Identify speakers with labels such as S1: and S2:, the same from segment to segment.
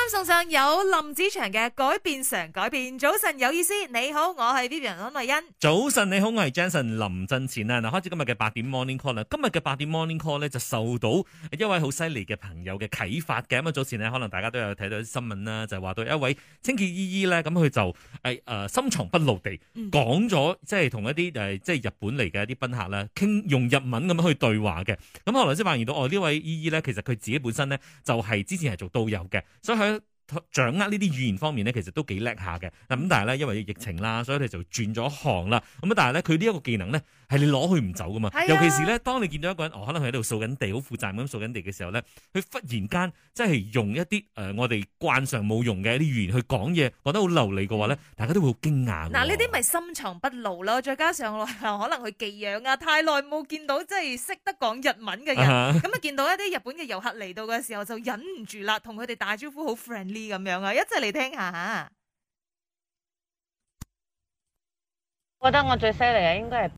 S1: 啱送上有林子祥嘅改變常改變。早晨有意思，你好，我係 Vivian 安慧欣。
S2: 早晨你好，我係 Jason 林振前啊！嗱，開始今日嘅8點 Morning Call 啦。今日嘅8點 Morning Call 咧就受到一位好犀利嘅朋友嘅啟發嘅。咁啊，早前呢，可能大家都有睇到啲新聞啦，就係話到一位清潔姨姨咧，咁佢就深藏不露地講咗，即係同一啲即係日本嚟嘅一啲賓客啦，用日文咁樣去對話嘅。咁後來先發現到，呢位姨姨咧，其實佢自己本身咧就係之前係做導遊嘅，所以佢掌握呢啲語言方面咧，其實都幾叻下嘅。咁但係咧，因為疫情啦，所以佢就轉咗行啦。咁但係咧，佢呢一個技能咧，係你攞佢唔走噶嘛。尤其是咧，當你見到一個人，可能佢喺度掃緊地，好負責任咁掃緊地嘅時候咧，佢忽然間即係用一啲我哋慣常冇用嘅一啲語言去講嘢，講得好流利嘅話咧，大家都會好驚訝。
S1: 嗱，呢啲咪深藏不露咯。再加上可能佢寄養啊，太耐冇見到即係識得講日文嘅人，咁啊見到一啲日本嘅遊客嚟到嘅時候，就忍唔住啦，同佢哋打招呼好 friendly。咁樣啊，一齊嚟聽下吓。
S3: 我覺得我最犀利嘅應該係。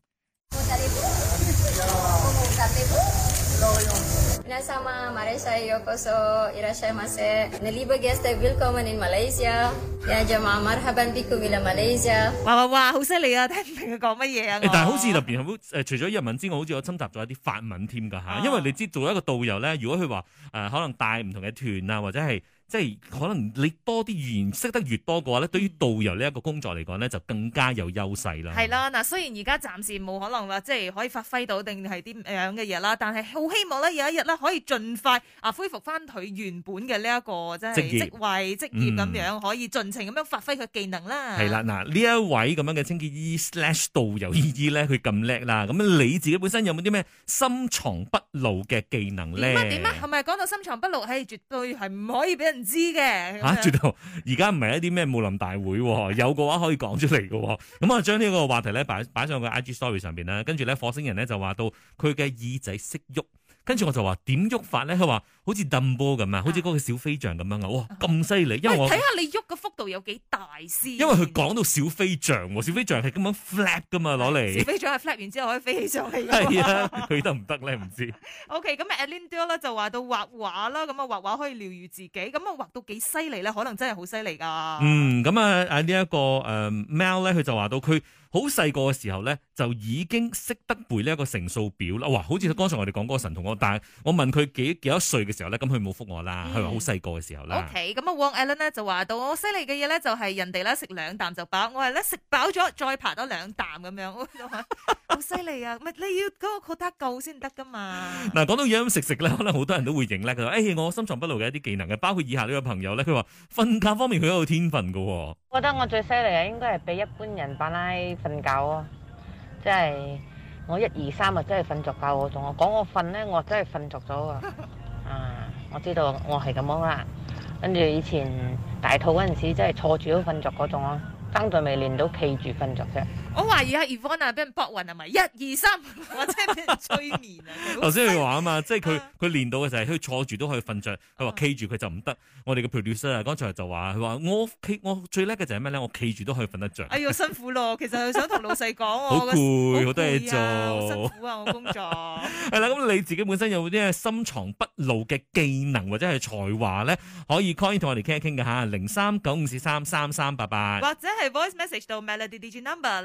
S4: 皆様、マレーシアへようこそいらっしゃいませ。Liebe Gäste, willkommen in Malaysia. Ya jemaah marhaban bikum ila Malaysia。
S1: 哇，好犀利啊！聽唔明佢講乜嘢啊？
S2: 但係好似入邊除咗日文之外，好似我侵襲咗一啲法文添㗎嚇。因為你知做一個導遊咧，如果佢話可能帶唔同嘅團啊，或者係即係可能你多啲語言識得越多嘅話咧，對於導遊呢一個工作嚟講咧，就更加有優勢啦。
S1: 係啦，嗱，雖然而家暫時冇可能話即係可以發揮到定係啲樣嘅嘢啦，但係好希望咧有一日咧可以盡快恢復翻佢原本嘅呢一個即係職位職業咁樣，可以盡情咁樣發揮佢技能啦。
S2: 係啦，嗱，呢一位咁樣嘅清潔姨/導遊姨姨咧，佢咁叻啦，咁你自己本身有冇啲咩深藏不露嘅技能咧？
S1: 點啊？係咪講到深藏不露？係絕對係唔可以俾人知嘅。
S2: 絕對！而家唔係一啲咩武林大會，有嘅話可以講出嚟嘅。咁啊，將呢個話題咧擺上個 IG Story 上邊啦，跟住咧火星人咧就話到佢嘅耳仔識喐。跟住我就話點喐法咧？佢話好似掟波咁啊，好似嗰個小飛象咁樣啊！哇，咁犀利！因為我
S1: 睇下你喐嘅幅度有幾大先。
S2: 因為佢講到小飛象，小飛象係咁樣 flap 噶嘛，攞嚟。
S1: 小飛象係 flap 完之後可以飛起上嚟。
S2: 係啊，佢得唔得咧？唔知。
S1: OK， 咁Alinda 咧就話到畫畫啦，咁啊畫畫可以療愈自己，咁啊畫到幾犀利咧？可能真係好犀利噶。咁
S2: 啊呢一個Mel 咧，佢就話到佢好細個嘅時候咧，就已經識得背呢一個乘數表啦。哇，好似剛才我哋講嗰個神童，但係我問佢幾多歲嘅時候咧，咁佢冇覆我啦。佢話好細個嘅時候啦。
S1: OK， 咁啊，Wong Allen 咧就話到我犀利嘅嘢咧，就係人哋咧食2啖就飽，我係咧食飽咗再爬多2啖咁樣，好犀利啊！咪你要嗰個 quota 夠先得噶嘛。
S2: 嗱，講到飲食咧，可能好多人都會認咧。佢話我深藏不露嘅一啲技能嘅，包括以下呢個朋友咧，佢話瞓覺方面佢有天分噶。
S3: 我覺得我最犀利嘅應該係比一般人扮拉瞓覺啊！即係我1、2、3啊，真係瞓着覺嗰種。我講我瞓咧，我真係瞓着咗啊！我知道我係咁樣啦。跟住以前大肚嗰陣時，真係坐住都瞓着嗰種咯。爭在未練到企住瞓着啫。
S1: 我懷疑阿 Yvonne 啊，俾人搏暈係咪？1、2、3，或者俾人催眠啊？
S2: 頭先佢話啊嘛，即係佢練到嘅就係佢坐住都可以瞓着，佢話企住佢就唔得。我哋嘅 producer 啊，剛才就話佢話我最叻嘅就係咩咧？我企住都可以瞓得着。
S1: 哎呀，辛苦咯！其實佢想同老細講，
S2: 好攰，好多嘢做，
S1: 好辛苦啊！我工作
S2: 係啦。咁你自己本身有冇啲深藏不露嘅技能或者係才華咧？可以 call 同我哋傾一傾嘅嚇，0395433388，
S1: 或者係 voice message 到 Melody DJ number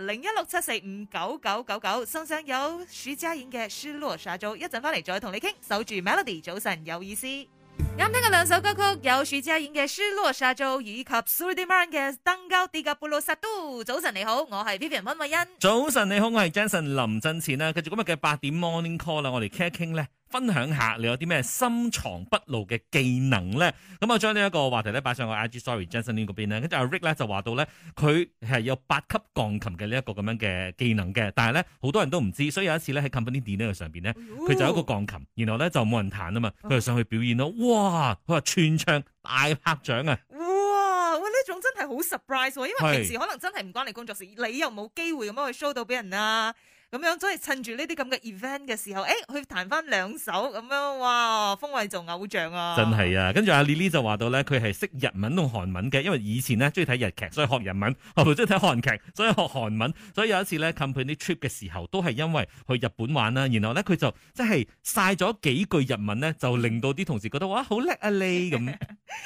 S1: 0167459999，送上有徐佳瑩嘅《失落沙洲》。一陣翻嚟再同你傾，守住 Melody，早晨有意思。啱聽嘅2首歌曲有徐佳瑩嘅《失落沙洲》以及 Sudirman 嘅《登高跌甲布魯薩都》。早晨你好，我係 Vivian 溫慧欣。
S2: 早晨你好，我係 Jason 林振前啦。繼續今日嘅8點 Morning Call 啦，我哋傾一傾咧。分享下你有啲咩深藏不露嘅技能咧？咁我將呢一個話題咧擺上個 IG Story Jason 嗰邊咧，跟住阿 Rick 咧就話到咧，佢係有8級鋼琴嘅呢一個咁樣嘅技能嘅，但係咧好多人都唔知，所以有一次咧喺 Company Dinner 上邊咧，佢就有一個鋼琴，然後咧就冇人彈啊嘛，佢就上去表演咯，哇！佢話全場大拍掌啊！
S1: 哇！呢種真係好 surprise 喎，因為平時可能真係唔關你工作事，你又冇機會咁樣去 show 到俾人啊。 咁樣，所以趁住呢啲咁嘅 event 嘅時候，去彈翻2首咁樣，哇，風位做偶像啊！
S2: 真係啊！跟住阿 Lily 就話到咧，佢係識日文同韓文嘅，因為以前呢中意睇日劇，所以學日文；後來中意睇韓劇，所以學韓文。所以有一次咧 company trip 嘅時候，都係因為去日本玩啦，然後咧佢就即係晒咗幾句日文咧，就令到啲同事覺得哇好叻啊你咁。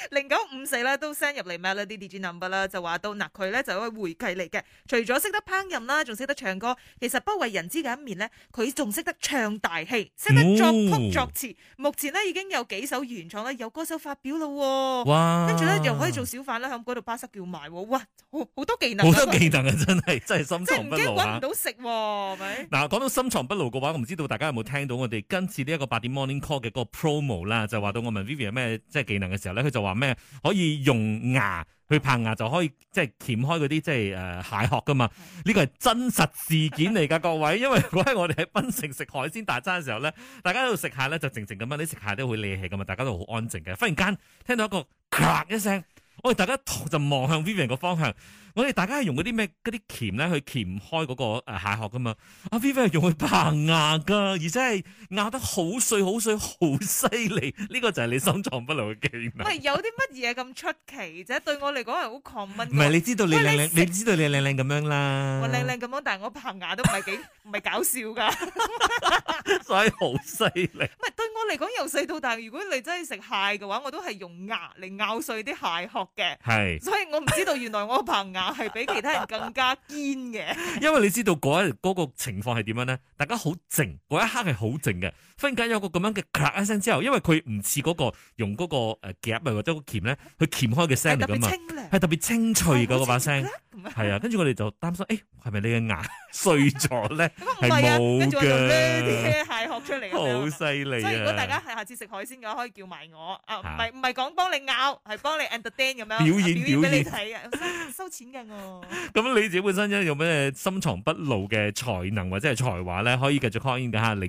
S1: 0954咧都 send 入嚟 Melody DJ number 啦，就話到嗱佢咧就係一位會計嚟嘅，除咗識得烹飪啦，仲識得唱歌。其實不為人知嘅一面咧，佢仲識得唱大戲，識得作曲作詞。目前咧已經有幾首原創咧有歌手發表咯。
S2: 哇！
S1: 跟住咧又可以做小販啦，喺嗰度巴塞叫賣。哇，好多技能，
S2: 好多技能啊！真係深藏不露啊！
S1: 即係唔驚揾唔到食喎，係咪？
S2: 嗱，講到深藏不露嘅話，我唔知道大家有冇聽到我哋今次呢一個8點 Morning Call 嘅嗰個 promo 啦，就話到我問 Vivian 有咩即係技能嘅時候咧，佢就話咩可以用牙去拍牙就可以即係鉗開嗰啲即係蟹殼噶嘛？呢個係真實事件嚟㗎，各位。因為嗰日我哋喺檳城食海鮮大餐嘅時候咧，大家喺度食蟹咧就靜靜咁樣，你食蟹都好理氣㗎嘛，大家都好安靜嘅。忽然間聽到一個咔一聲，我哋大家就望向 Vivian 個方向。我哋大家係用嗰啲咩嗰啲鉗咧去鉗開嗰個蟹殼噶嘛？阿 Vivian 係用去棚牙噶，而且係咬得好碎好碎，好犀利。呢個就係你深藏不露嘅技能。
S1: 喂，有啲乜嘢咁出奇啫？對我嚟講係好 common。
S2: 唔係你知道你靚靚，你知道你靚靚咁樣啦。
S1: 我靚靚咁樣，但係我棚牙都唔係搞笑噶，
S2: 所以好犀利。
S1: 唔係對我嚟講由細到大，如果你真係食蟹嘅話，我都係用牙嚟咬碎啲蟹殼嘅。係，所以我唔知道原來我棚牙係比其他人更加堅嘅。因為
S2: 你知道嗰個情況係點樣咧？大家好靜，嗰一刻係好靜嘅。忽然間有個咁樣嘅咔一聲之後，因為佢唔似嗰個用嗰個夾啊或者個鉗咧去鉗開嘅聲嚟噶嘛，係特別清脆嗰把聲。係啊，跟住我哋就擔心，係咪你嘅牙碎咗咧？係冇
S1: 跟住我就孭啲蟹殼出嚟，
S2: 好犀利啊！
S1: 所以如果大家係下次食海鮮嘅話，可以叫埋我啊，唔係講幫你咬，係幫你 entertain 咁樣
S2: 表演俾
S1: 你睇啊，收錢㗎我。
S2: 咁你自己本身有咩深藏不露嘅才能或者係才華咧？可以繼續 call in 㗎嚇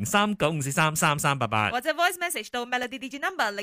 S2: ，0395433388，
S1: 或者 voice message 到 Melody DJ number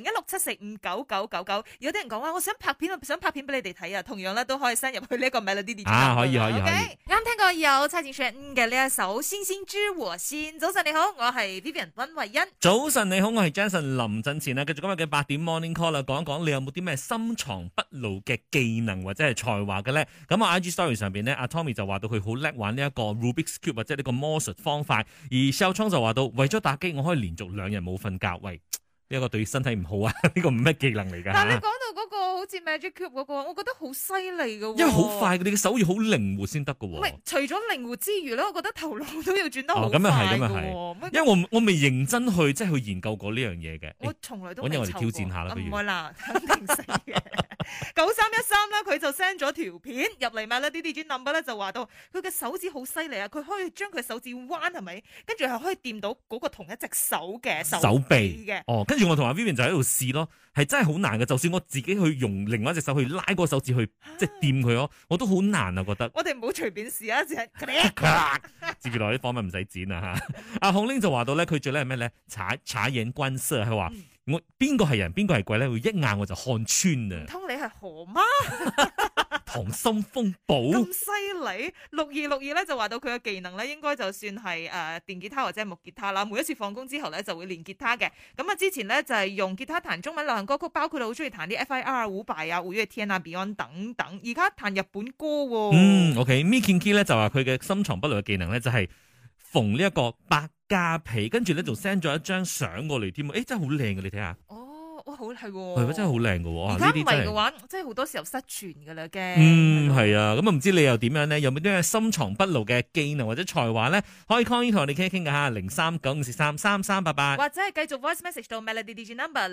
S1: 0167459999。有啲人講話，我想拍片俾你哋睇啊，同樣咧都可以 send 入去呢一個 Melody DJ number。
S2: 可以。
S1: 啱聽過有蔡健雅嘅呢一首《星星知我心》。早晨你好，我係 Vivian 溫慧欣。
S2: 早晨你好，我係 Jason 林振前啦。繼續今日嘅8點 Morning Call 啦，講一講你有冇啲咩深藏不露嘅技能或者係才華嘅咧？咁啊 IG Story 上邊呢，阿 Tommy 就話到佢好叻玩呢一個 Rubik's Cube 或者呢個魔術方塊，而 Shell Chong 就話到為咗打機我可以連續2日冇瞓覺。喂，呢一個對身體唔好啊！呢個唔係咩技能嚟㗎。但係你講
S1: 到嗰個好似 Magic Cube 嗰個，我覺得好犀利㗎。
S2: 因為好快，你嘅手要好靈活先得㗎。
S1: 唔係，除咗靈活之餘咧，我覺得頭腦都要轉得好快。
S2: 咁啊係。因為我未認真去即係去研究過呢樣嘢嘅。
S1: 我從來都未。
S2: 揾日我哋挑戰下啦，不如。
S1: 唔會啦，肯定死嘅。9313啦，佢就 send 咗條片入嚟嘛啦，啲 DJ number 咧就話到佢嘅手指好犀利啊，佢可以將佢手指彎係咪？跟住係可以掂到嗰個同一隻手嘅手臂嘅。跟住我同阿 Vivian 就喺度試咯，係真係好難嘅。就算我自己去用另外一隻手去拉嗰個手指去即係掂佢咯，我都好難啊覺得。我哋唔好隨便試啊，接住落啲訪問唔使剪啊嚇。阿孔玲就話到咧，佢最叻係咩咧？察言觀色，佢話。我邊個係人邊個係鬼咧？會一眼我就看穿啊！唔通你係河媽？溏心風暴咁犀利！6262咧就話到佢嘅技能咧，應該就算係電吉他或者係木吉他啦。每一次放工之後咧就會練吉他嘅。咁啊之前咧就係用吉他彈中文流行歌曲，包括好中意彈啲 FIR 伍佰啊、五月天啊、Beyond 等等。而家彈日本歌喎。OK，Mickey Key 咧就話佢嘅深藏不露嘅技能咧就係縫呢一個加皮，跟住咧仲 send 咗一張相過嚟添，真係好靚嘅，你睇下。哇，好係喎，真係好靚嘅喎。而家唔係嘅話，即係好多時候失傳嘅啦嘅。係啊，咁啊唔知你又點樣咧？有冇啲咩深藏不露嘅技能或者才華咧？可以 call in 同我哋傾一傾㗎嚇，0395433388，或者係繼續 voice message 到 Melody DJ number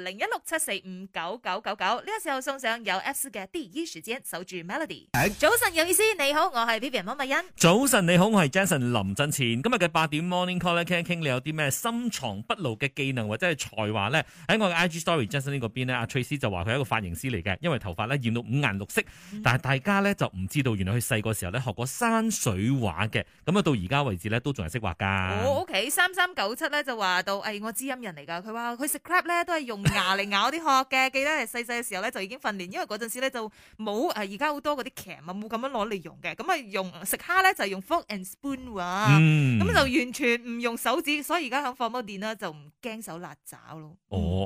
S1: 0167459999。呢個時候送上有 F 嘅第一時間守住 Melody。早晨有意思，你好，我係 Vivian 溫美欣。早晨你好，我係 Jason 林振前。今日嘅8點 Morning Call 咧，傾一傾你有啲咩深藏不露嘅技能或者係才華咧？喺我嘅 IG Story Jason
S2: Melanie 嗰邊咧，阿 Tracy 就話佢係一個髮型師嚟嘅，因為頭髮咧染到五顏六色，但係大家咧就唔知道，原來佢細個時候咧學過山水畫嘅，咁啊到而家為止咧都仲係識畫噶。
S1: OK，3397咧就話到，我知音人嚟噶，佢話佢食 crab 咧都係用牙嚟咬啲殼嘅，記得係細細嘅時候咧就已經訓練，因為嗰陣時咧就冇而家好多嗰啲鉗啊，冇咁樣攞嚟用嘅，咁啊用食蝦咧就係用 fork and spoon 喎，咁就完全唔用手指，所以而家響放摩電啦就唔驚手辣爪咯。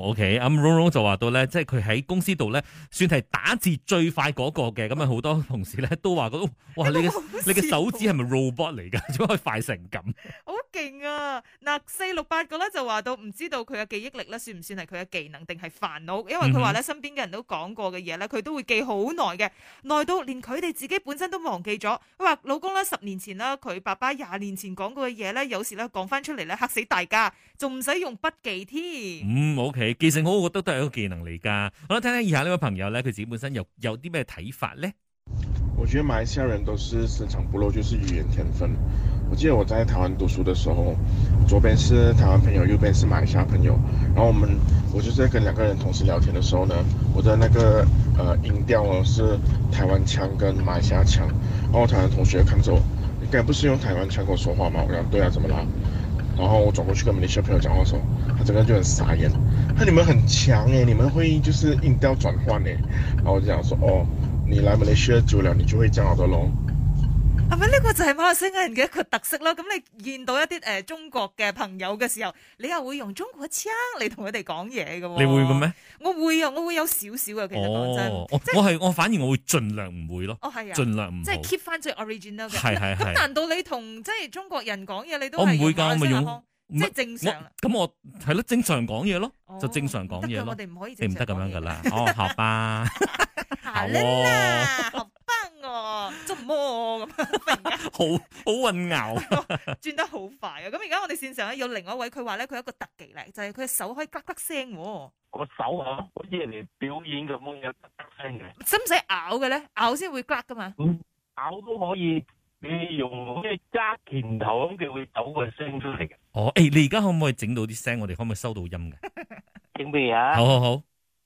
S2: OK，Ron 就話到咧，即係佢喺公司度咧，算係打字最快嗰個嘅，咁啊好多同事咧都話嗰，哇你嘅手指係咪 robot 嚟噶？點解可以快成咁？
S1: 好勁啊！嗱，468個咧就話到唔知道佢嘅記憶力咧算唔算係佢嘅技能定係煩惱？因為佢話咧身邊嘅人都講過嘅嘢咧，佢都會記好耐嘅，耐到連佢哋自己本身都忘記咗。佢話老公咧10年前啦，佢爸爸20年前講過嘅嘢咧，有時咧講翻出嚟咧嚇死大家，仲唔使用筆記添。
S2: OK， 記性好，我覺得都係一個技能嚟噶。好啦，聽聽以下呢位朋友咧，佢自己本身有啲咩睇法咧？
S5: 我覺得馬來西亞人都是深藏不露，就是語言天分。我記得我在台灣讀書的時候，左邊是台灣朋友，右邊是馬來西亞朋友。然後我就在跟2個人同時聊天的時候呢，我的那個音調呢是台灣腔跟馬來西亞腔。然後台灣同學看着我，你該不是用台灣腔跟我說話嗎？我講對啊，怎麼啦？然後我轉過去跟馬來西亞朋友講話的時候，他整個人就很傻眼。那你們很強誒，你們會就是音調轉換誒。然後我就講說，哦。你來馬來西亞久了，你就會這樣的咯。
S1: 係咪呢個就係馬來西亞人嘅一個特色咯？咁你見到一啲中國嘅朋友嘅時候，你又會用中國腔嚟同佢哋講嘢嘅喎。
S2: 你會嘅咩？
S1: 我會啊，我會有少少嘅。其實講真，
S2: 我反而我會盡量唔會咯。
S1: 係啊，
S2: 盡量唔
S1: 即係 keep 翻最 original 嘅。
S2: 係。
S1: 咁難道你同即係中國人講嘢，你都
S2: 我唔會㗎，我咪用。
S1: 即係正常啦。
S2: 咁我係咯，正常講嘢咯，就正常講嘢咯。
S1: 我哋唔可以，
S2: 你唔得咁樣噶啦。好吧。
S1: 好啦，好棒哦，做乜咁？
S2: 好混淆，
S1: 轉得好快啊！咁而家我哋線上咧有另外一位，佢話咧佢有一個特技咧，就係佢嘅手可以呱呱聲。
S6: 個手啊，好似人哋表演咁樣有呱呱聲嘅。
S1: 使唔使咬嘅咧？咬先會呱噶嘛？
S6: 咬都可以。你用咩揸拳頭咁，佢會抖個聲出嚟嘅。
S2: 你而家可唔可以整到啲聲？我哋可唔可以收到音嘅？
S6: 整咩啊？
S2: 好。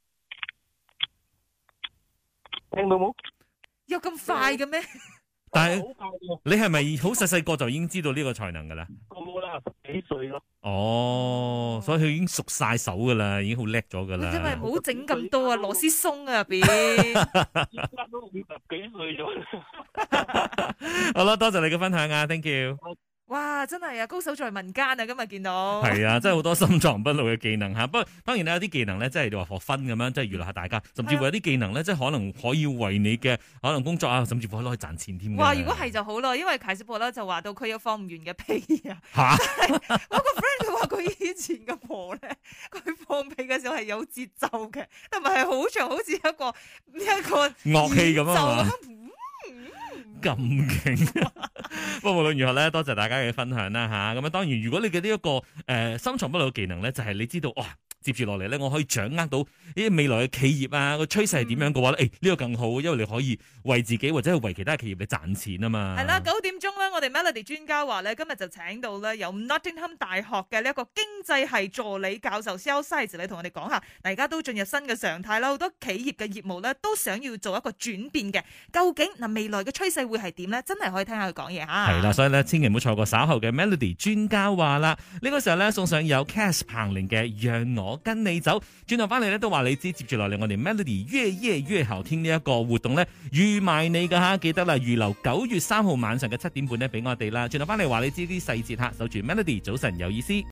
S6: 聽到冇？
S1: 有咁快嘅咩？
S2: 但係你係咪好細個就已經知道呢個才能噶啦？
S6: 我啦，10幾歲咯。
S2: 所以佢已經熟晒手噶啦，已經好叻咗噶啦。
S1: 因為唔好整咁多啊，螺絲鬆啊入邊。
S6: 而家都50幾歲咗。
S2: 好啦，多謝你嘅分享啊 ，thank you。
S1: 哇，真係啊，高手在民間啊！今日見到
S2: 係啊，真係好多深藏不露嘅技能吓。不過當然有啲技能咧，即係你話學分咁樣，即係娛樂下大家。甚至乎有啲技能咧，即係可能可以為你嘅可能工作啊，甚至乎可以攞去賺錢添。
S1: 哇！如果係就好咯，因為凱斯婆咧就話到佢有放唔完嘅屁啊。我個 friend 佢話佢以前嘅婆咧，佢放屁嘅時候係有節奏嘅，同埋係好長，好似一個
S2: 樂器咁啊。咁勁，不過無論如何咧，多謝大家嘅分享啦吓。咁當然，如果你嘅呢一個深藏不露嘅技能咧，就係你知道哇，接住落嚟咧，我可以掌握到呢啲未來嘅企業啊個趨勢係點樣嘅話咧，呢個更好，因為你可以為自己或者係為其他企業嚟賺錢啊嘛。係啦
S1: ，9點鐘咧，我哋 Melody 專家話咧，今日就請到咧有 Nottingham 大學嘅呢一個經濟系助理教授 Xiao Sai 你同我哋講下，大家都進入新嘅常態啦，好多企業嘅業務咧都想要做一個轉變嘅，究竟未來嘅趨勢會係點咧？真係可以聽下佢講嘢吓。
S2: 係啦，所以咧千祈唔好錯過稍後嘅 Melody 專家話啦。呢個時候咧送上有 Cass 彭羚嘅讓我跟你走，轉頭翻嚟咧都話你知，接住落嚟我哋 Melody 越夜越後天呢一個活動咧預埋你噶吓，記得啦，預留9月3號晚上嘅7點半咧俾我哋啦。轉頭翻嚟話你知啲細節吓，守住 Melody 早晨有意思。